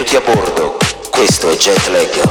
Benvenuti a bordo, questo è Jetlag.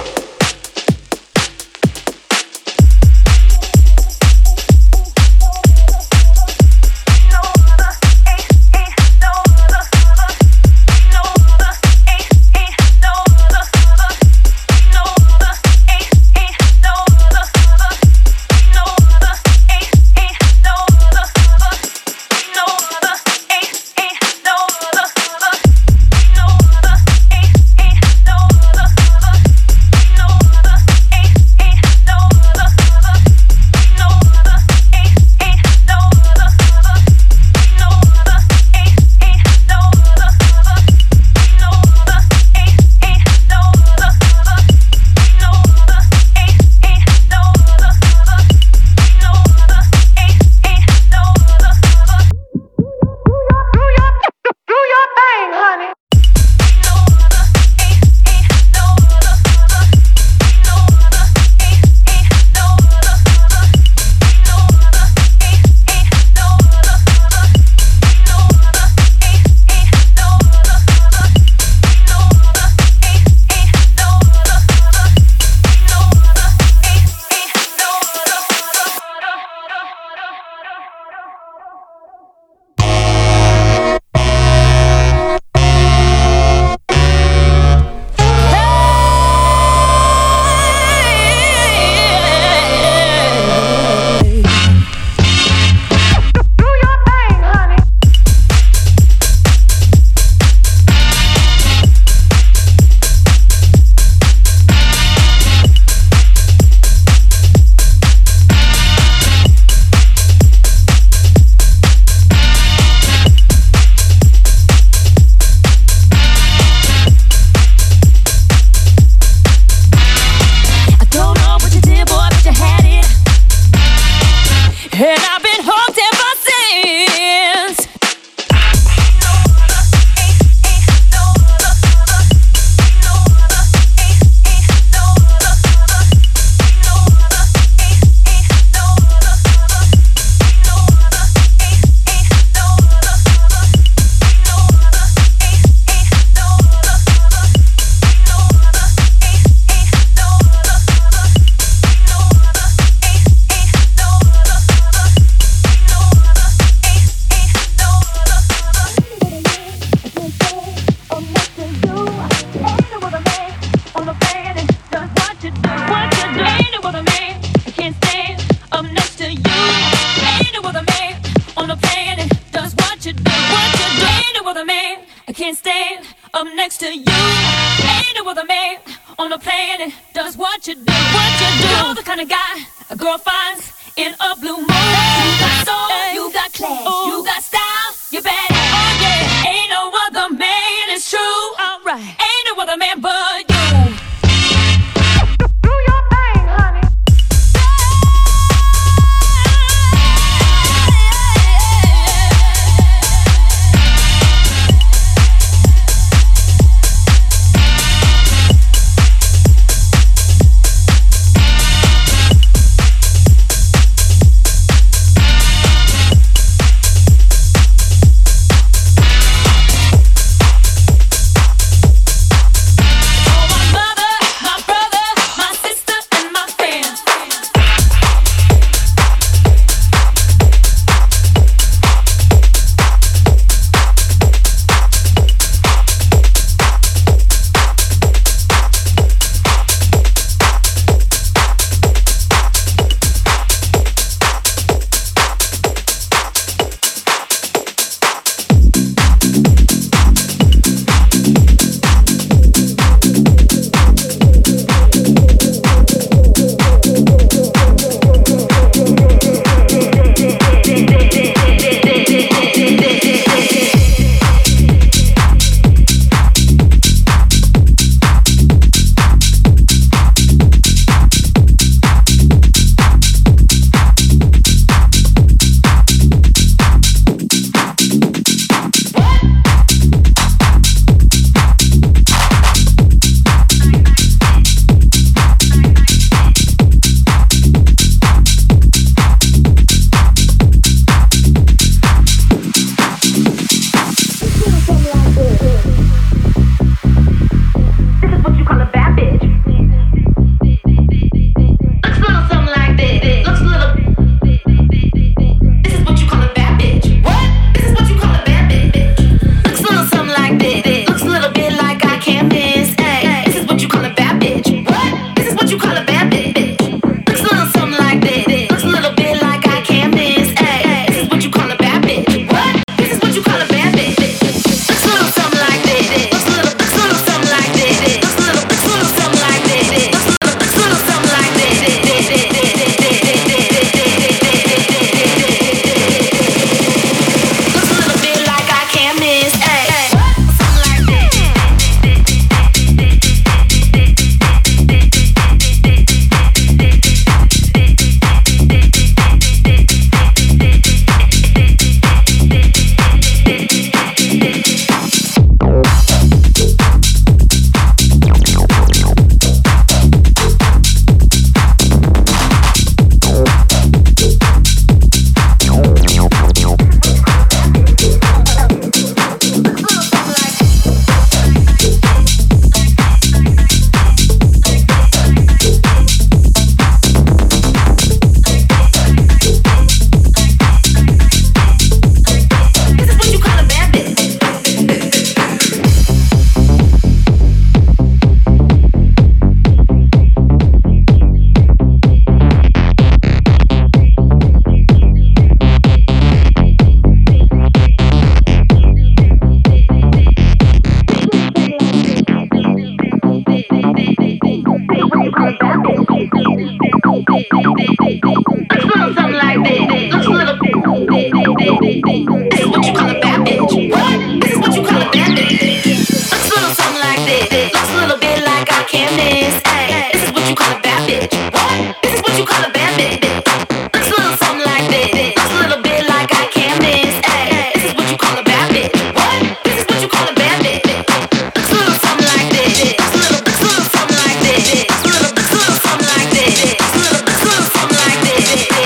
like this. Looks a little bit like I can't miss. Ay, this is what you call a bad bitch. What? This is what you call a bad bitch. Looks a little something like this. Looks a little bit like I can't miss. Ay, this is what you call a bad bitch. What? This is what you call a bad bitch. Looks a little something like this. Looks a little something like this. Looks a little something like this. Looks a little something like this.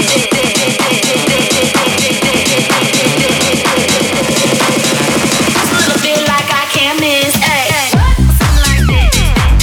Looks a little bit like I can't miss. Ay, something like this.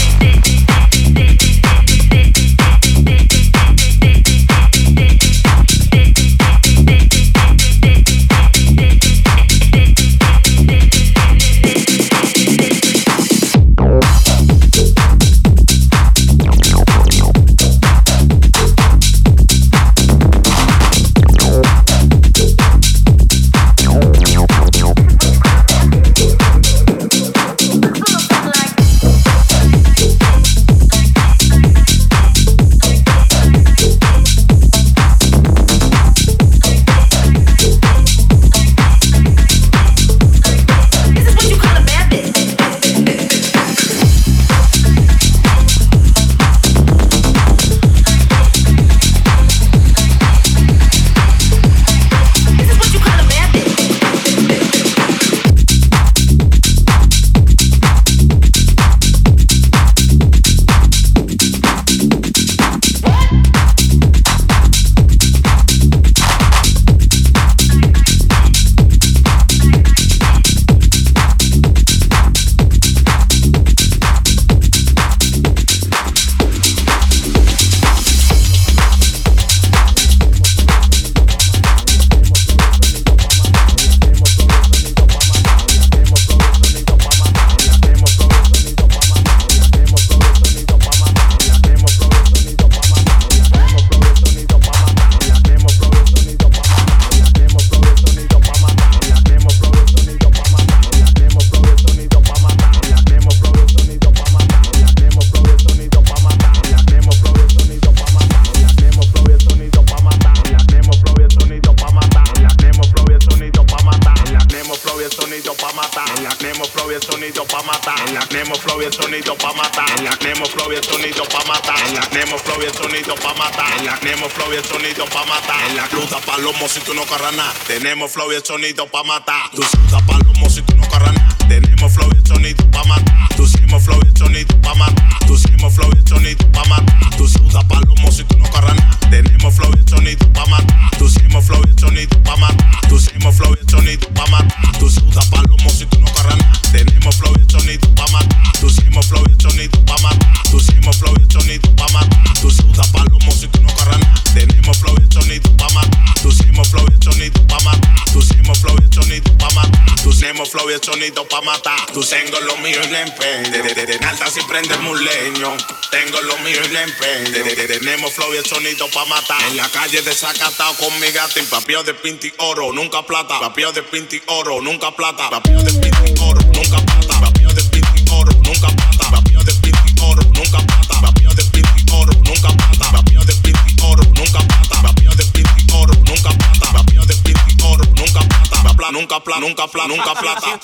Si tú no corras nada, tenemos flow y el sonido pa' matar. Tú sudas palomo si tú no corras nada, tenemos flow y el sonido pa' matar. Tú seguimos flow y el sonido pa' matar. Tú seguimos flow y el sonido pa' matar. Tú sudas palomo si tú no corras nada, tenemos flow y el sonido pa' matar. Tú seguimos flow y el sonido pa' matar. Tú seguimos flow y el sonido pa' matar. Tú sudas palomo si tú no corras nada, tenemos flow y el sonido pa' matar. Tú seguimos flow y el sonido pa' matar. Tú seguimos flow y el sonido pa' matar. Tú sudas palomo si tú no corras nada, tenemos flow y el sonido pa' matar. Tú seguimos flow y el sonido pa' matar. Tú seguimos flow y el sonido pa' matar. Tú seguimos flow y el sonido pa' matar. Tú tengo lo mío y le empeño. De alta si prendemos un leño. Tengo lo mío y le empeño. Tenemos flow y el sonido pa' matar. En la calle desacatado con mi gato. Papio de pinti oro, nunca plata. Papio de pinti oro, nunca plata. Papio de pinti oro, nunca plata. Papio de pinti oro, nunca plata. Papio de pinti oro, nunca plata. Papio de pinti oro, nunca plata. Papio de pinti oro, nunca plata. Papio de pinti oro, nunca plata. Papio de pinti oro, nunca plata. Nunca plata, nunca plata, nunca plata.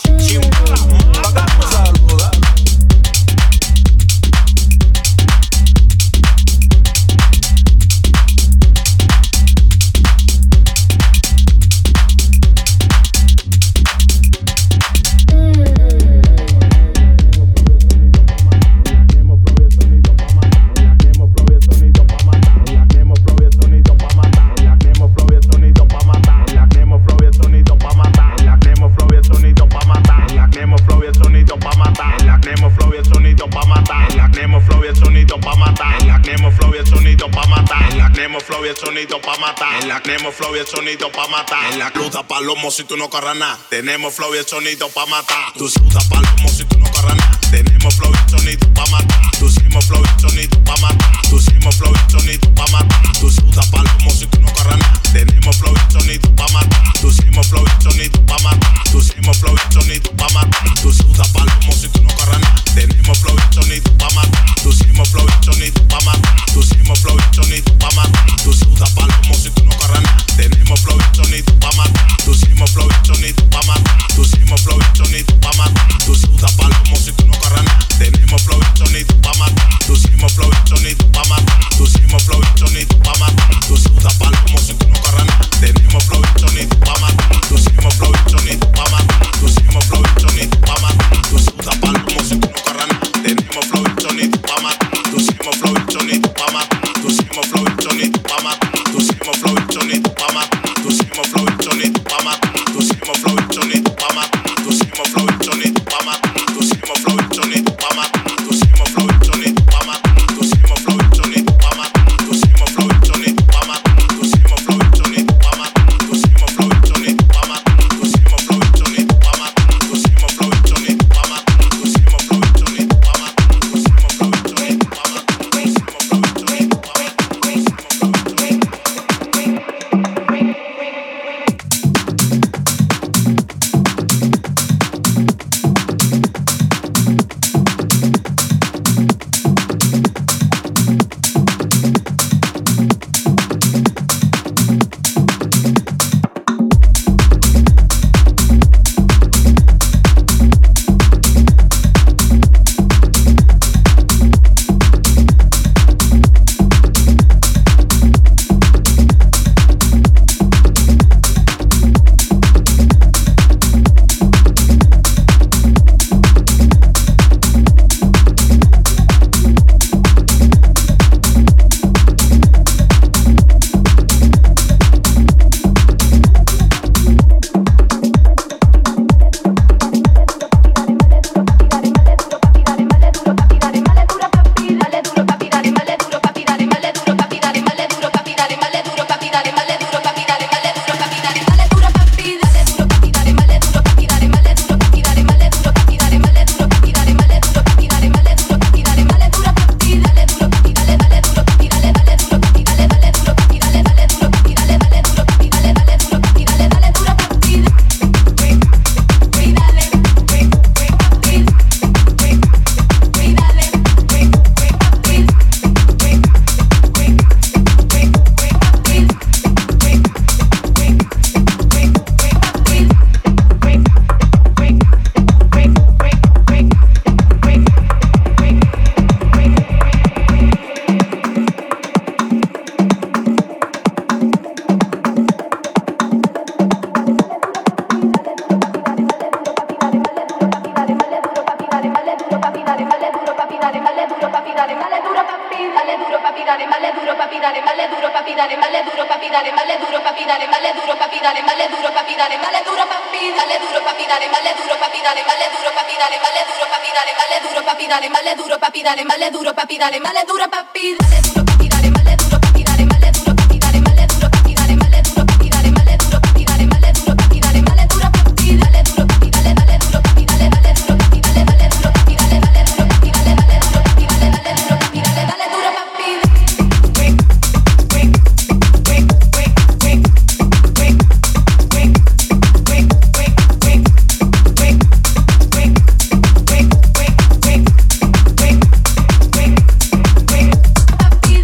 Sonido pa' matar. En la tenemos flow y el sonido pa' matar. En la cruda palomo si tú no corras nada. Tenemos flow y el sonido pa' matar. Tú sudas palomo si tú no corras nada. Tenemos flow y el sonido pa' matar. Tú seguimos flow y el sonido pa' matar. Tú seguimos flow y el sonido pa' matar. Tú sudas palomo si tú no corras nada. Tenemos flow y el sonido pa' matar. Tú seguimos flow y el sonido pa' matar. Tú seguimos flow y el sonido pa' matar. Tú sudas palomo si tú no corras nada. Tenemos flow y el sonido pa' matar. Tú seguimos flow y el sonido pa' matar. Tú seguimos flow y el sonido pa' matar. Tú sudas palomo si tú no corras nada. Tenemos flow y el sonido pa' matar. Tú seguimos flow y el sonido pa' matar. Tú seguimos flow y el sonido pa' matar. Tú sudas palomo si tú no corras nada. pa' matar. Pusimos flow y sonido pa' matar. Pusimos flow y sonido pa' matar. Tú sudas palomo si tú no corras nada. Tenemos flow y sonido pa' matar. Pusimos flow y sonido pa' matar. Pusimos flow y sonido pa' matar. Tú sudas palomo si tú no corras nada. Tenemos flow y sonido pa' matar. Pusimos flow y sonido pa' matar. Pusimos flow y sonido pa' matar. Pusimos flow y sonido pa' matar. Pusimos flow y sonido pa' matar. Pusimos flow y sonido pa' matar. Pusimos flow y sonido pa' matar. Pusimos flow y sonido pa' matar. Pusimos flow y sonido pa' matar. Pusimos flow y sonido pa' matar. Pusimos flow y sonido pa' matar. Pusimos flow y sonido pa' matar. Pusimos flow y sonido pa' matar. Pusimos flow y sonido pa' matar. Pusimos flow y sonido pa' matar. Pusimos flow y sonido pa' matar. Pusimos flow y sonido pa' matar. Dale duro papi, dale duro papi, dale duro papi, dale duro papi, dale duro papi, dale duro papi, dale duro papi, dale duro papi, dale duro papi, dale duro papi, dale duro papi, dale duro papi, dale duro papi, dale duro papi, dale duro papi, dale duro papi, dale duro papi, dale duro papi. Papi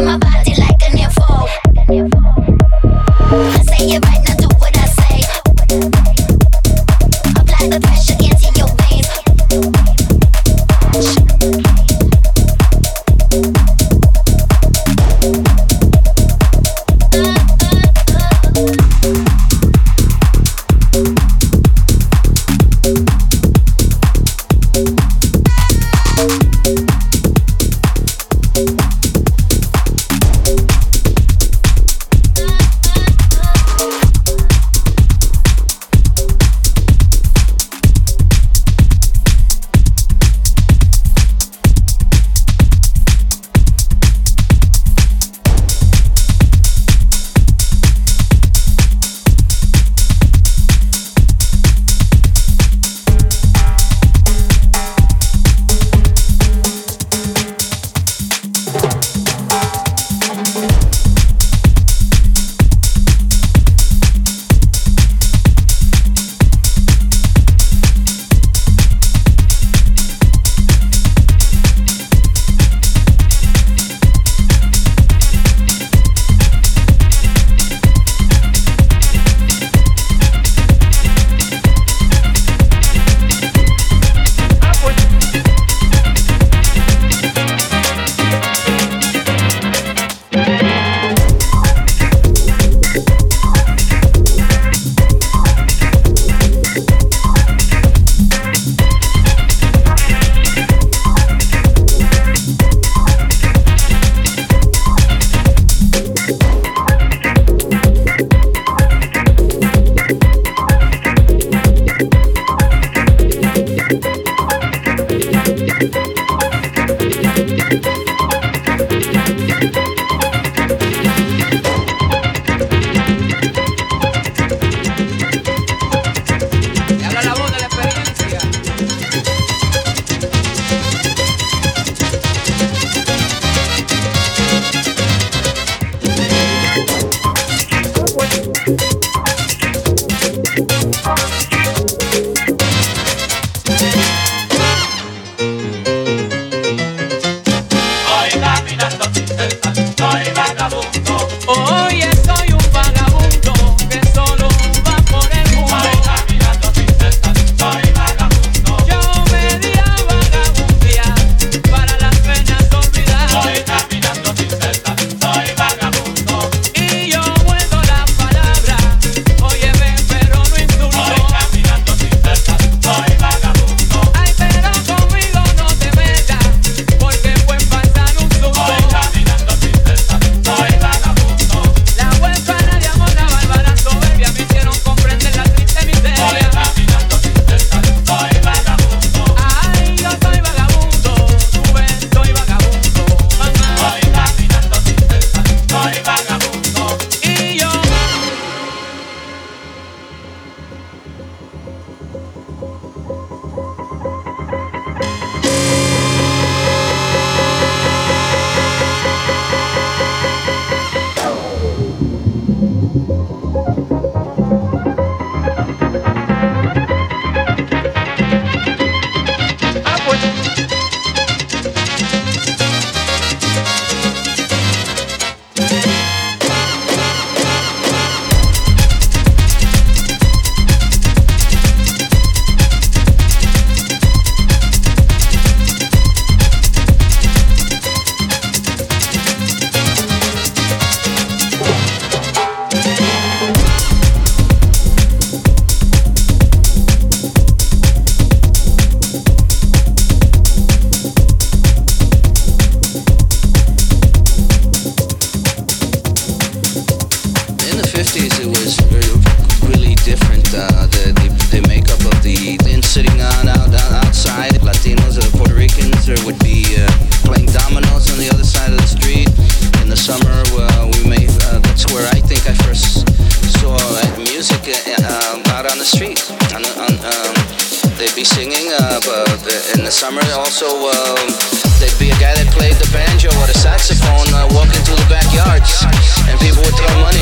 my body like a nympho. I say it right now, do what I say. Apply the pressure into your veins. summer. Also, there'd be a guy that played the banjo or the saxophone walking through the backyards, and people would throw money.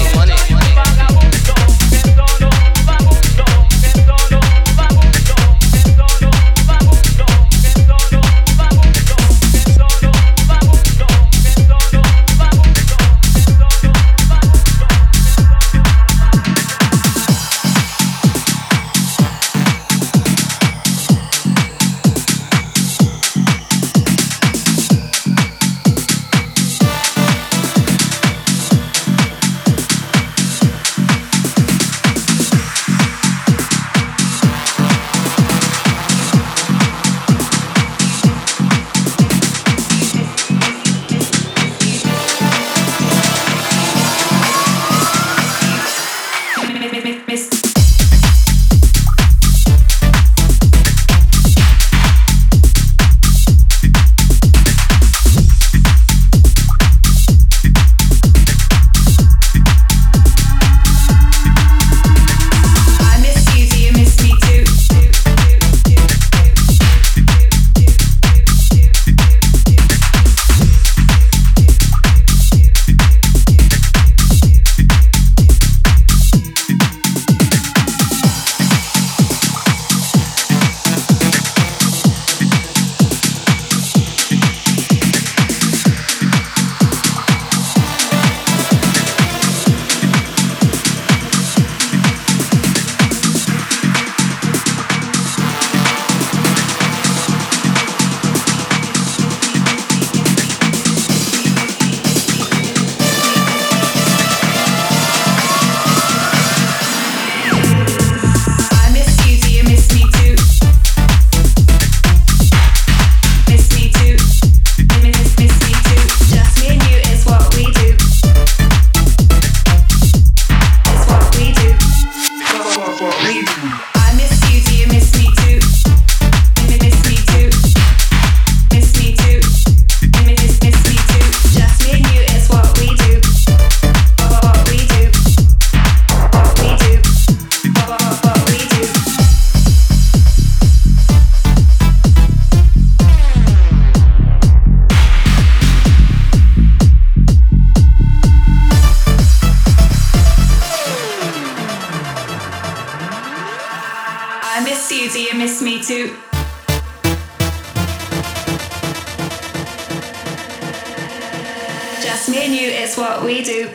Just me and you, it's what we do.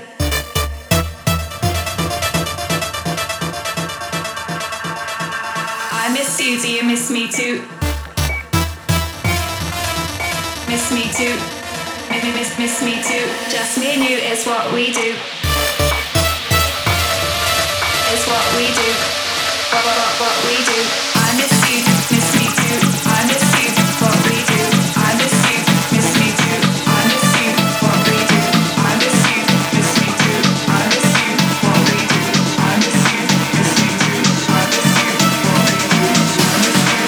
I miss you, do you miss me too? Miss me too. Miss me too. Just me and you, it's what we do. It's what we do. What we do. I miss you, miss me too. I miss you, what we do. I miss you, miss me too. I miss you, what we do. I miss you, miss me too. I miss you, what we do. I miss you, miss me too. I miss you, what we do. I miss you, miss me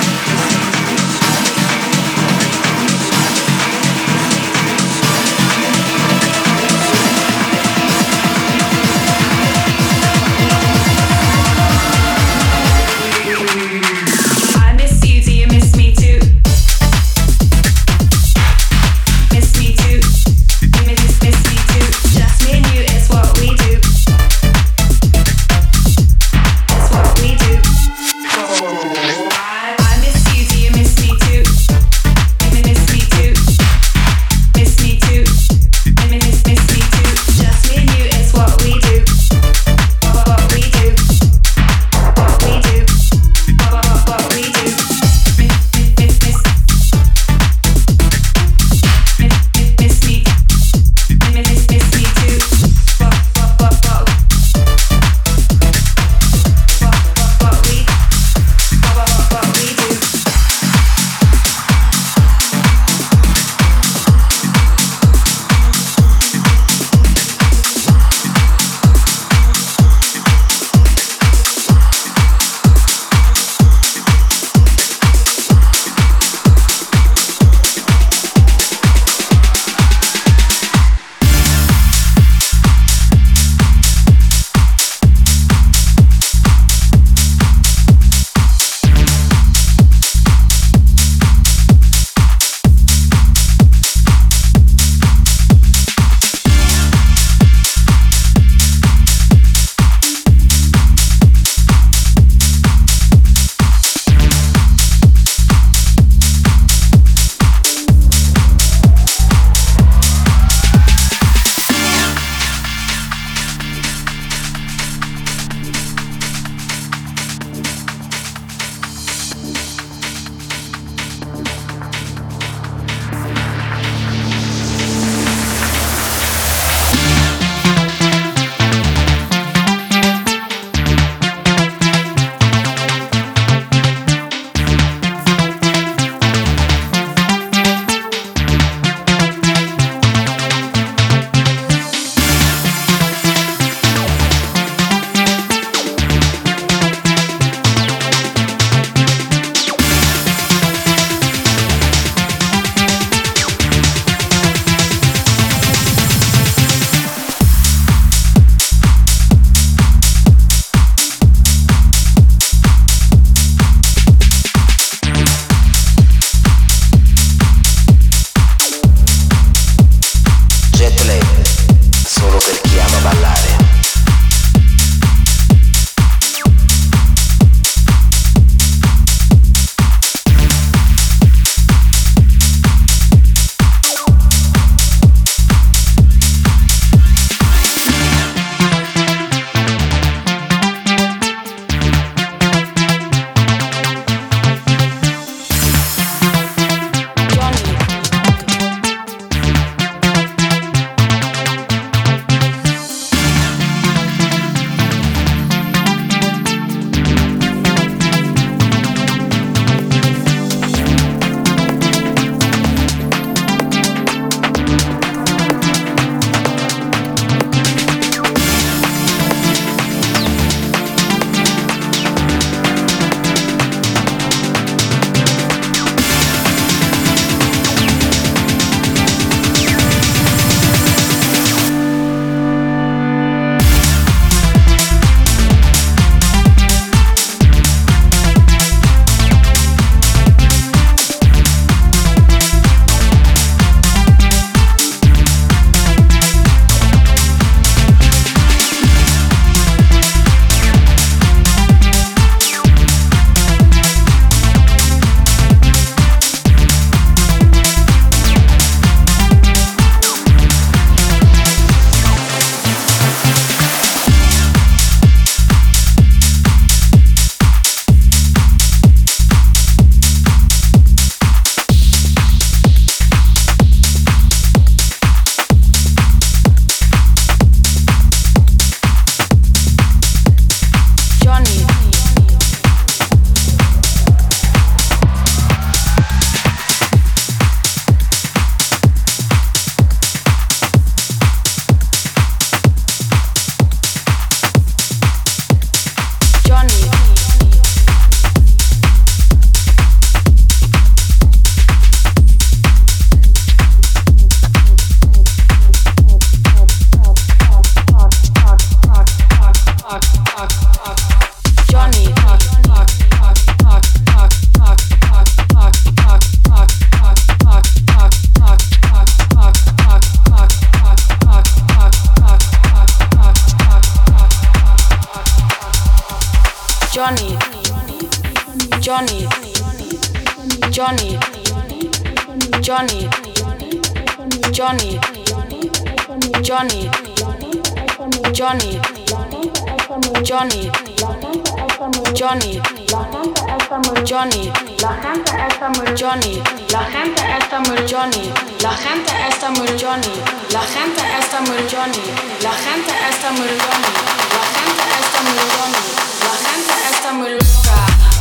too. I miss you. Johnny, Johnny, Johnny, Johnny, Johnny, Johnny, Johnny, Johnny, Johnny, Johnny, la gente está muy Johnny, la gente está muy Johnny, la gente está muy Johnny, la gente está muy Johnny, la gente está muy Johnny, la gente está muy Johnny, la gente está muy loca.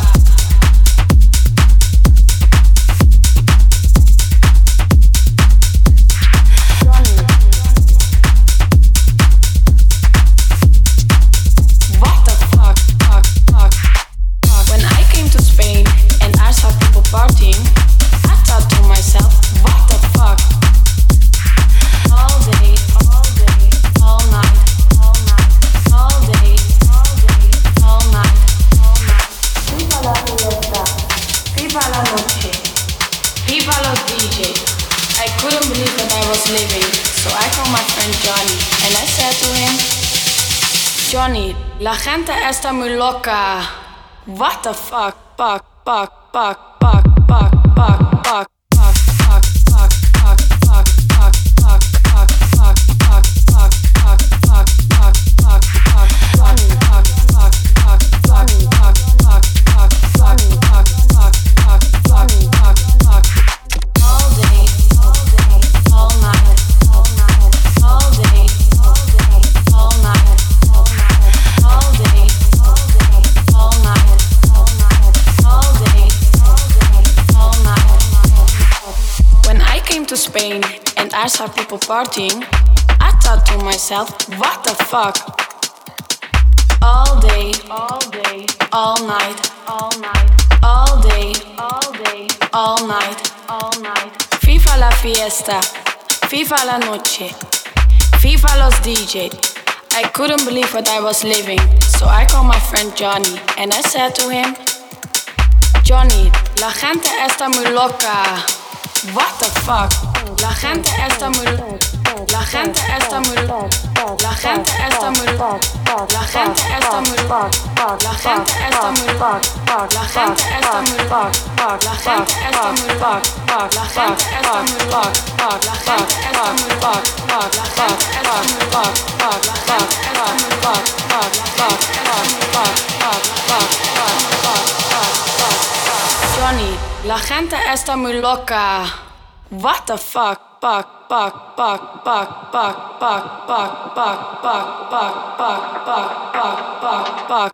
Partying, I thought to myself, what the fuck? All day, all day, all night, all night, all day, all day, all night, all night. Viva la fiesta, viva la noche, viva los DJ. I couldn't believe that I was living, so I called my friend Johnny, and I said to him, Johnny, la gente está muy loca. What the fuck, fuck, fuck, fuck. Spain and I saw people partying, I thought to myself, what the fuck? All day, all day, all night, all night, all day, all day, all night, all night. FIFA la fiesta, FIFA la noche, FIFA los DJ. I couldn't believe what I was living, so I called my friend Johnny and I said to him, Johnny, la gente está muy loca. What the fuck? La gente está muy, la gente está muy, la gente está muy, la gente está muy, la gente está muy, la gente está muy, la gente está muy, la gente está muy, la gente está muy, la gente Johnny, la gente está muy loca. What the fuck? Fuck, fuck, fuck, fuck, fuck, fuck, fuck, fuck, fuck, fuck, fuck, fuck, fuck, fuck.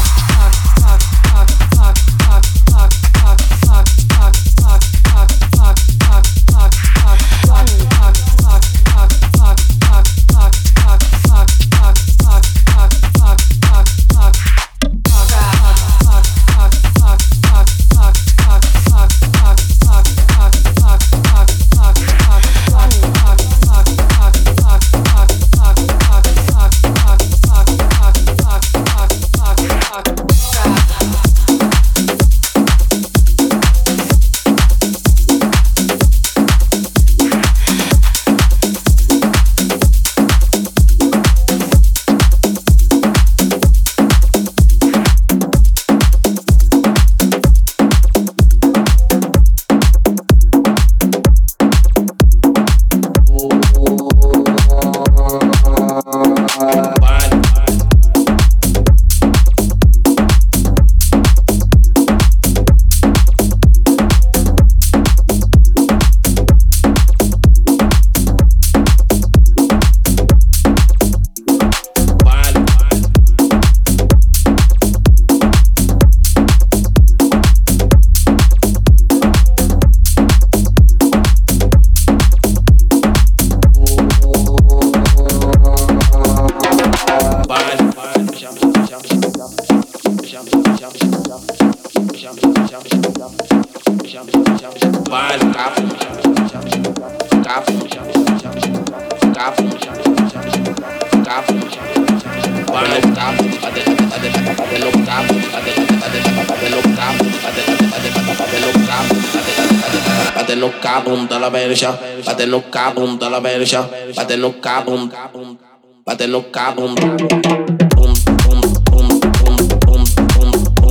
la verja, bate no cabum da la verja, bate no cabum, bate no cabum. Bum bum bum bum bum bum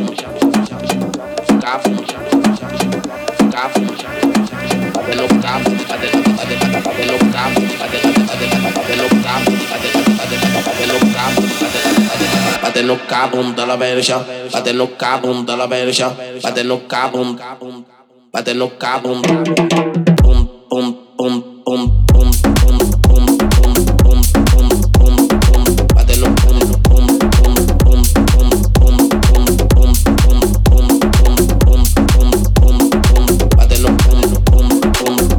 Bate no cabum da la verja, bate no cabum da la verja, bate no cabum, bate no cabum, bum bum bum bum bum bum bum bum bum bum bum bum, bate no bum bum bum bum bum bum bum bum bum bum bum bum bum bum, bate no bum bum bum bum.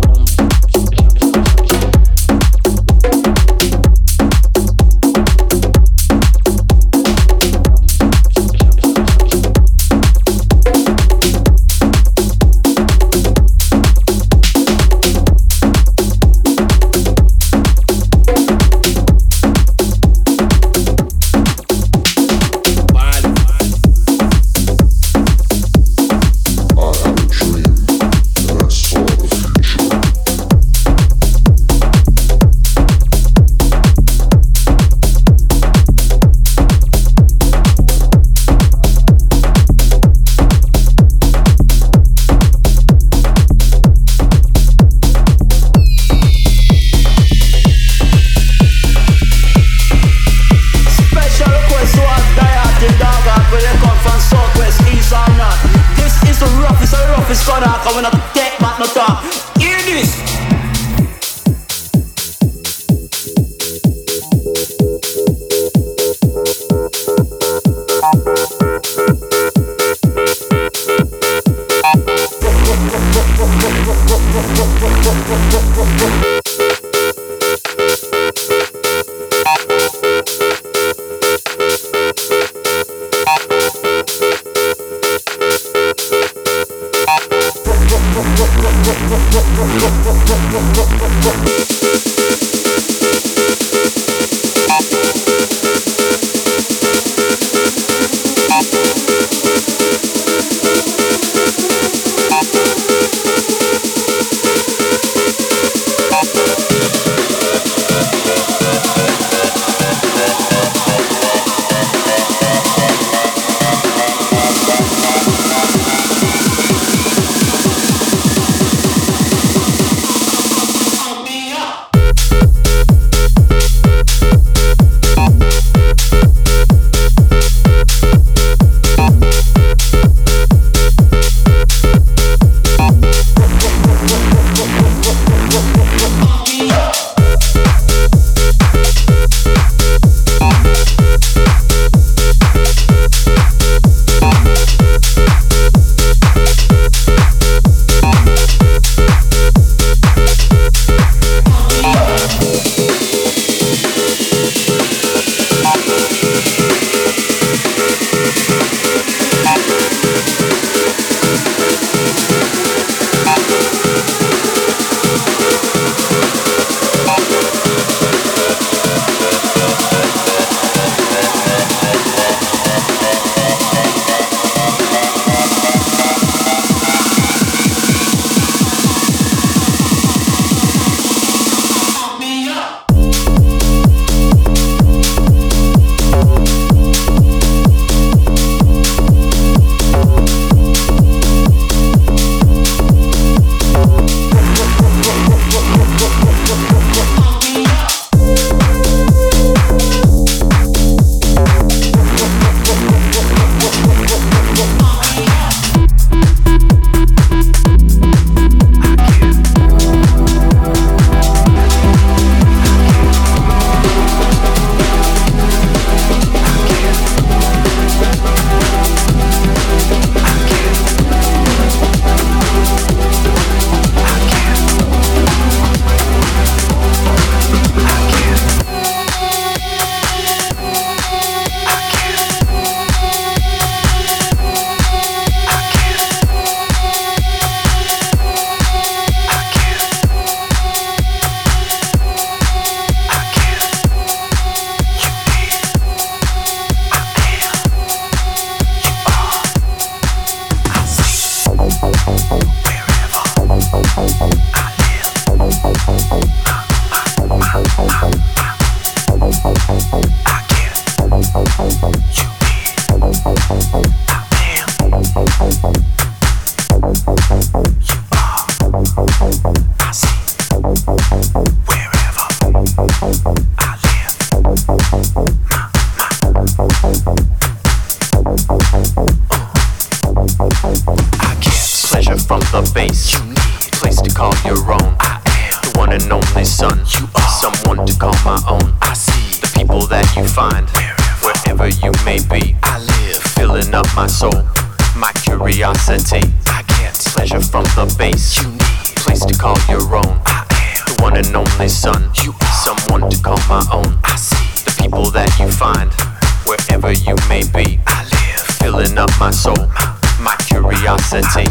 from the bass. You need a place to call your own. I am the one and only son. You are someone to call my own. I see the people that you find wherever you may be. I live filling up my soul, my curiosity. I get pleasure from the bass. You need a place to call your own. I am the one and only son. You are someone to call my own. I see the people that you find wherever you may be. I live filling up my soul, my curiosity.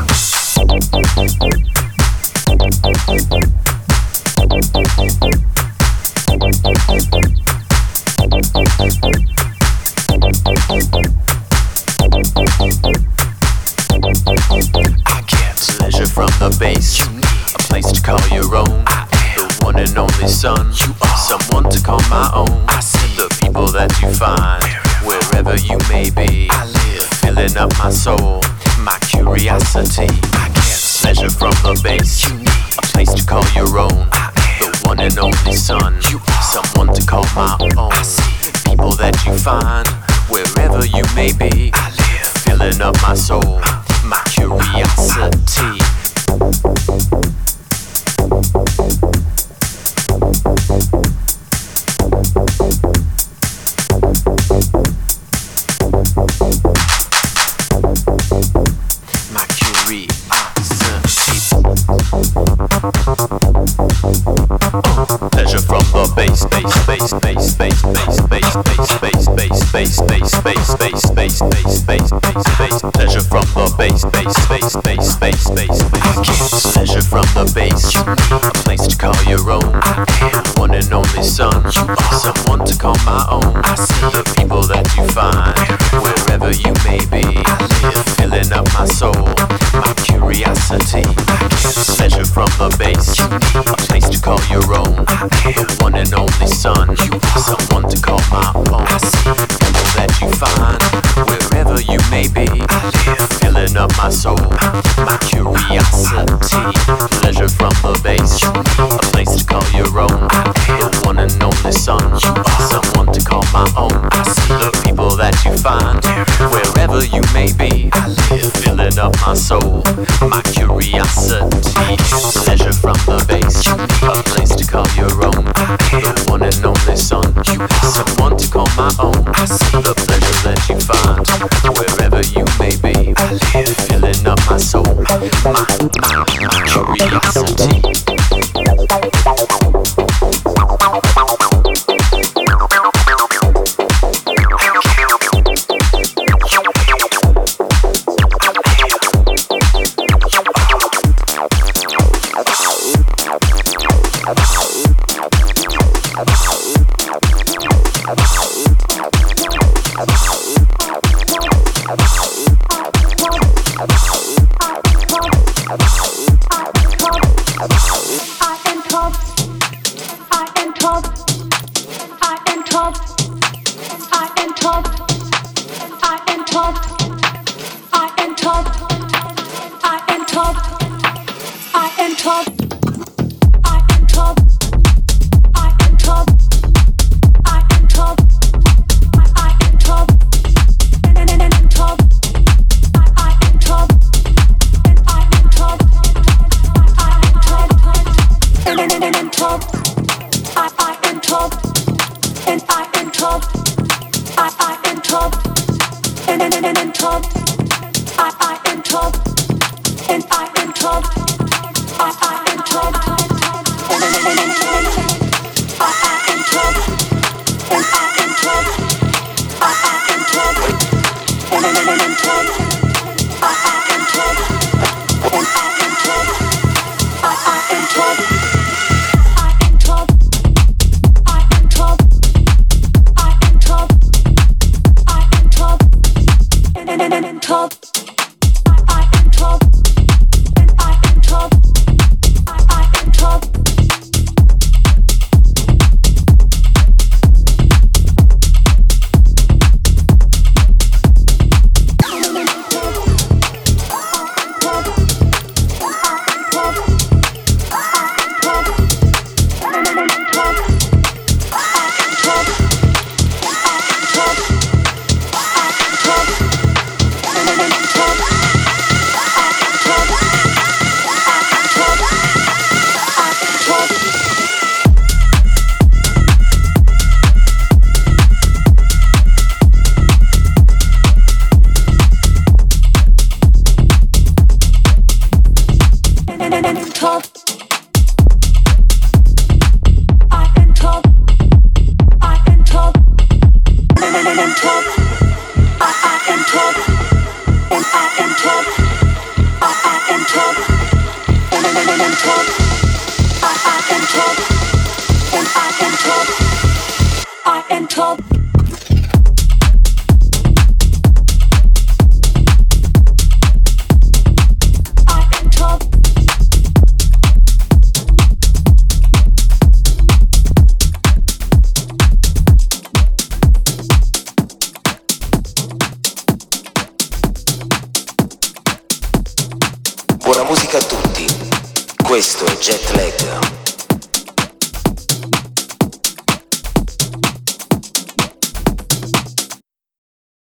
I get pleasure from the bass. You need a place to call your own. I am the one and only son. You are someone to call my own. I see the people that you find wherever you may be. I live filling up my soul, my curiosity. I get pleasure from the bass. You need a place to call your own. I am the one and only son. You are someone to call my own. I see people that you find wherever you may be. I live filling up my soul, my curiosity. Pleasure from the bass, bass, bass, bass, bass, bass, bass, bass, bass, bass, bass, bass, bass, bass, bass, bass, bass, bass. Pleasure from the bass, bass, bass, bass, bass, bass, bass. Pleasure from the bass. A place to call your own. I am one and only son. You are someone to call my own. I see the people that you find wherever you may be. I live filling up my soul, my curiosity. Pleasure from the bass. A place to call your own. The one and only son. You are someone to call my own. I see people that you find wherever you may be. I live filling up my soul, my curiosity. Pleasure from the bass. A place to call your own. The one and only son. You are someone to call my own. I see the people that you find wherever you may be. I live filling up my soul, my curiosity. Pleasure from the bass. A place to call your own. The one and only son. You are someone to call my own. I see the pleasure that you find wherever you may be. I live filling up my soul, my curiosity. I am Buona musica a tutti, questo è Jet Lag.